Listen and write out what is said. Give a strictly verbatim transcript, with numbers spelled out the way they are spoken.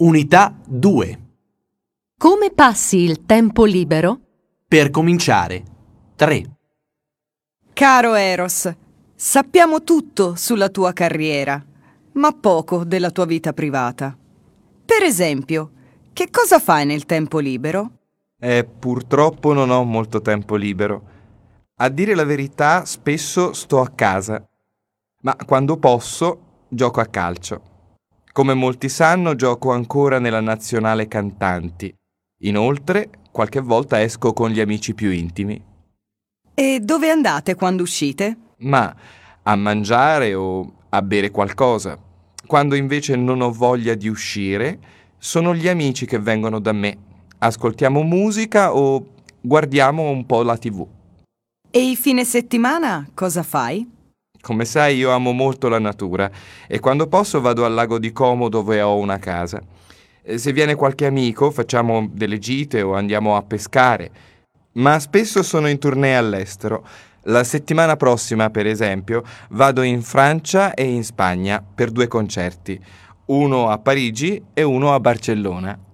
Unità due. Come passi il tempo libero? Per cominciare. tre. Caro Eros, sappiamo tutto sulla tua carriera, ma poco della tua vita privata. Per esempio, che cosa fai nel tempo libero? Eh, purtroppo non ho molto tempo libero. A dire la verità, spesso sto a casa, ma quando posso gioco a calcio. Come molti sanno, gioco ancora nella nazionale cantanti. Inoltre, qualche volta esco con gli amici più intimi. E dove andate quando uscite? Ma a mangiare o a bere qualcosa. Quando invece non ho voglia di uscire, sono gli amici che vengono da me. Ascoltiamo musica o guardiamo un po' la tivù. E il fine settimana cosa fai? Come sai, io amo molto la natura e quando posso vado al lago di Como dove ho una casa. E se viene qualche amico facciamo delle gite o andiamo a pescare, ma spesso sono in tournée all'estero. La settimana prossima, per esempio, vado in Francia e in Spagna per due concerti, uno a Parigi e uno a Barcellona.